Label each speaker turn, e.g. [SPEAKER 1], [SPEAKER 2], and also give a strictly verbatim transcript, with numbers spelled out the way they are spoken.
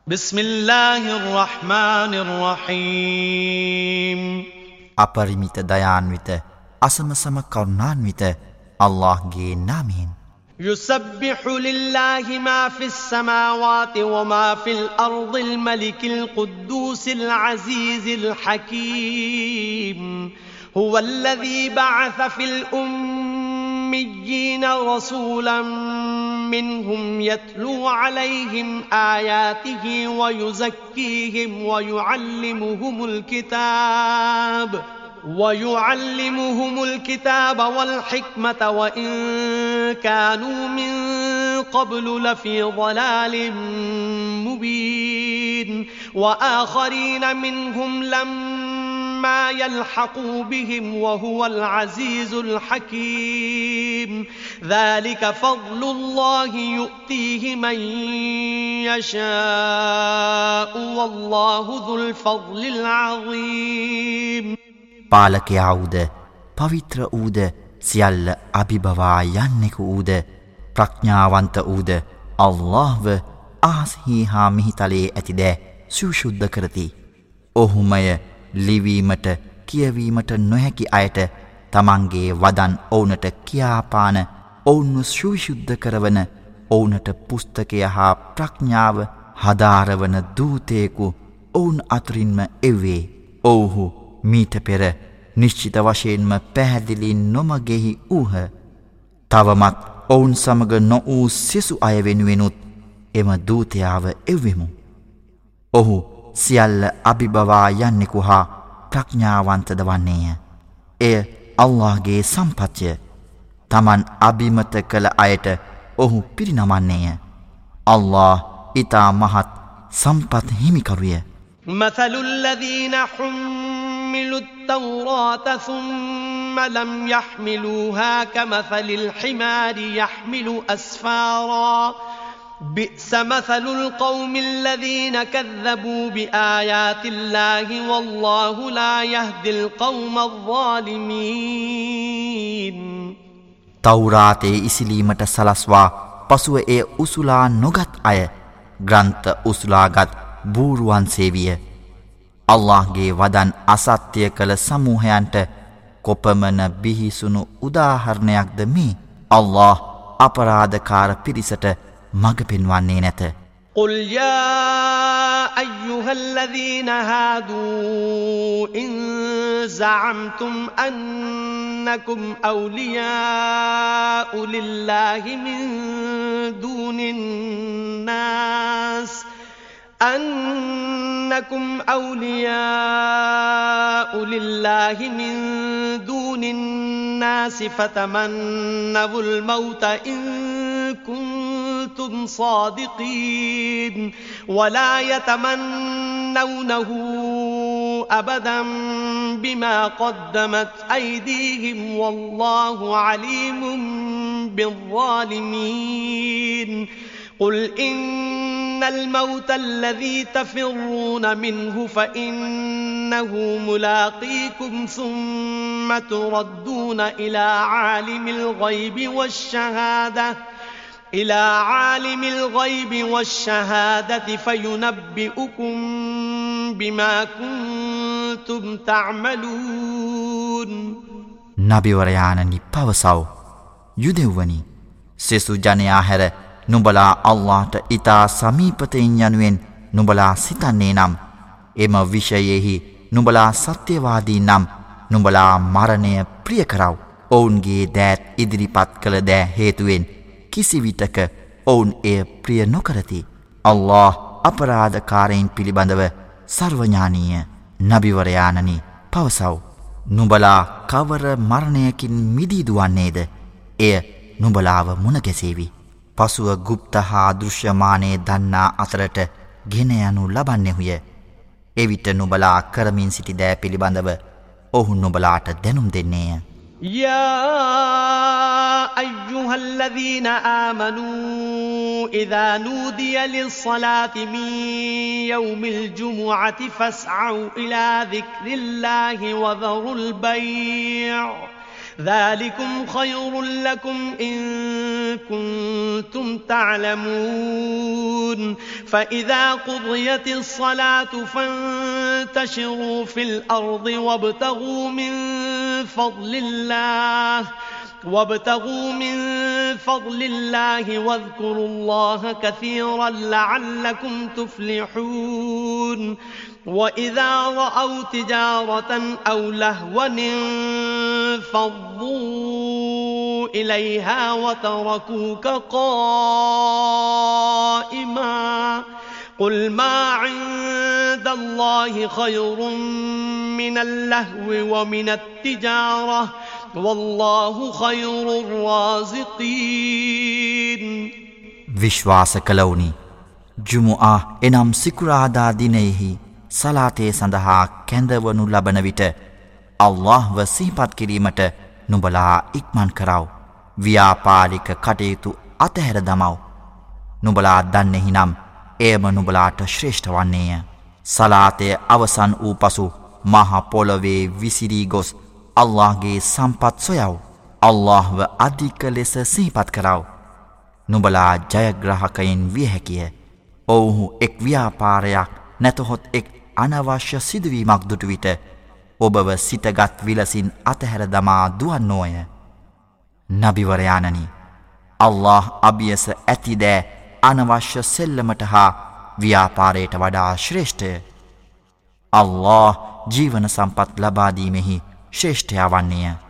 [SPEAKER 1] بسم الله الرحمن الرحيم
[SPEAKER 2] අපරිමිත දයාන්විත අසමසම කරුණාන්විත අල්ලාහ්ගේ නාමයෙන්
[SPEAKER 1] يسبح لله ما في السماوات وما في الأرض الملك القدوس العزيز الحكيم هو الذي بعث في الأميين رسولا منهم يتلو عليهم آياته ويزكيهم ويعلمهم الكتاب ويعلمهم الكتاب والحكمة وإن كانوا من قبل لفي ضلال مبين وآخرين منهم لما يلحقوا بهم وهو العزيز الحكيم ذلك فضل الله يؤتيه من يشاء والله ذو الفضل العظيم
[SPEAKER 2] පාලකයා වූද පවිත්‍ර වූද සියල්ල අභිබවා යන්නෙකු වූද ප්‍රඥාවන්ත වූද අල්ලාහ්ව ආස්හි හා මිහිතලයේ ඇතිදෑ සුශුද්ධ කරති. ඔහුමය ලිවීමට කියවීමට නොහැකි අයට තමන්ගේ වදන් ඔවුනට කියාපාන ඔවුන්ව සුවිශුද්ධ කරවන ඔවුනට පුස්තකය හා ප්‍රඥාව හදාරවන දූතයෙකු ඔවුන් අතරින්ම එවේ. ඔවුහු මීට පෙර නිශ්චිත වශයෙන්ම පැහැදිලි නොමගෙහි වූහ. තවමත් ඔවුන් සමග නොවූ සෙසු අය වෙනුවෙනුත් එම දූතයාව එව්වෙමු. ඔහු සියල්ල අභිබවා යන්නෙකු හා ප්‍රඥාවන්තද වන්නේය. එය අල්ලාහ්ගේ සම්පත්ය. තමන් අභිමත කළ අයට ඔහු පිරිනමන්නේය. අල්ලාහ් ඉතා මහත් සම්පත් හිමිකරුය.
[SPEAKER 1] مثل الذين حملوا التوراة ثم لم يحملوها كمثل الحمار يحمل أسفارا بئس مثل القوم الذين كذبوا بآيات الله والله لا يهدي القوم الظالمين
[SPEAKER 2] තවුරාතේ ඉසිලීමට සලස්වා පසුව එය උසුලා නොගත් අය ග්‍රන්ථ උසුලාගත් බූරුවන් සේවිය. අල්ලාහ්ගේ වදන් අසත්‍ය කළ සමූහයන්ට කොපමණ බිහිසුණු උදාහරණයක්ද මේ. අල්ලාහ් අපරාධකාර පිරිසට මඟ පෙන්වන්නේ නැත.
[SPEAKER 1] قل يا أيها الذين هادوا إن زعمتم أنكم أولياء لله من دون الناس أنكم أولياء لله من دون الناس فتمنوا الموت إن كنتم صادقين ولا يتمنونه أبدا بما قدمت أيديهم والله عليم بالظالمين قل إن الموت الذي تفرون منه فإنه ملاقيكم ثم تردون إلى عالم الغيب والشهادة إلى عالم الغيب والشهادة فينبئكم بما كنتم تعملون
[SPEAKER 2] නබිවරයාණනි පවසව. යුදෙව්වනි සෙසු ජනයා හැර නුඹලා අල්ලාහට ඉතා සමීපතෙන් යනුවෙන් නුඹලා සිතන්නේ නම් එම විෂයෙහි නුඹලා සත්‍යවාදී නම් නුඹලා මරණය ප්‍රිය කරව. ඔවුන්ගේ දෑත් ඉදිරිපත් කළ දෑ හේතුවෙන් කිසිවිටක ඔවුන් එය ප්‍රිය නොකරති. අල්ලාහ් අපරාධකාරයින් පිළිබඳව සර්වඥානීය. නබිවරයාණනි පවසව. නුඹලා කවර මරණයකින් මිදී දුවන්නේද? එය නුඹලාව මුණගැසේවි. පසුව ගුප්ත හා දෘශ්‍යමානයේ දන්නා අතරට ගෙන යනු ලබන්නේහුය. එවිට නුඹලා කරමින් සිටි දෑ පිළිබඳව ඔහු නුඹලාට දැනුම් දෙන්නේය.
[SPEAKER 1] يا أيها الذين آمنوا إذا نودي للصلاة من يوم الجمعة فاسعوا إلى ذكر الله وذروا البيع ذلكم خير لكم إن كنتم تعلمون فإذا قضيت الصلاة فانتشروا في الأرض وابتغوا من فضل الله وابتغوا من فضل الله واذكروا الله كثيرا لعلكم تفلحون وإذا رأوا تجارة أو لهوا انفضوا إليها وتركوك قائما قل ما عند الله خير من اللهو ومن التجارة والله خير الرازقين
[SPEAKER 2] විශ්වාස කළවුනි ජුමුආ එනම් සිකුරාදා දිනෙහි සලාතේ සඳහා කැඳවනු ලබන විට අල්ලාහ්ව සිහිපත් කිරීමට නුඹලා ඉක්මන් කරව ව්‍යාපාරික කටයුතු අතහැර දමව නුඹලා දන්නේහි නම් එයම නුඹලාට ශ්‍රේෂ්ඨ වන්නේය සලාතේ අවසන් වූ පසු මහ පොළොවේ විසිරී ගොස් අල්ලාහ්ගේ සම්පත් සොයව අල්ලාහ්ව අධික ලෙස සිහිපත් කරව නුඹලා ජයග්‍රාහකයින් විය හැකිය ඔවුහු එක් ව්‍යාපාරයක් නැතහොත් එක් අනවශ්‍ය සිදුවීමක් දුටු විට ඔබව සිතගත් විලසින් අතහැර දමා දුවන්නෝය නබිවරයාණනි අල්ලාහ් අභියස ඇතිදෑ අනවශ්‍ය සෙල්ලමට හා ව්‍යාපාරයට වඩා ශ්‍රේෂ්ඨය අල්ලාහ් ජීවන සම්පත් ලබාදීමෙහි ශ්‍රේෂ්ඨයා වන්නේය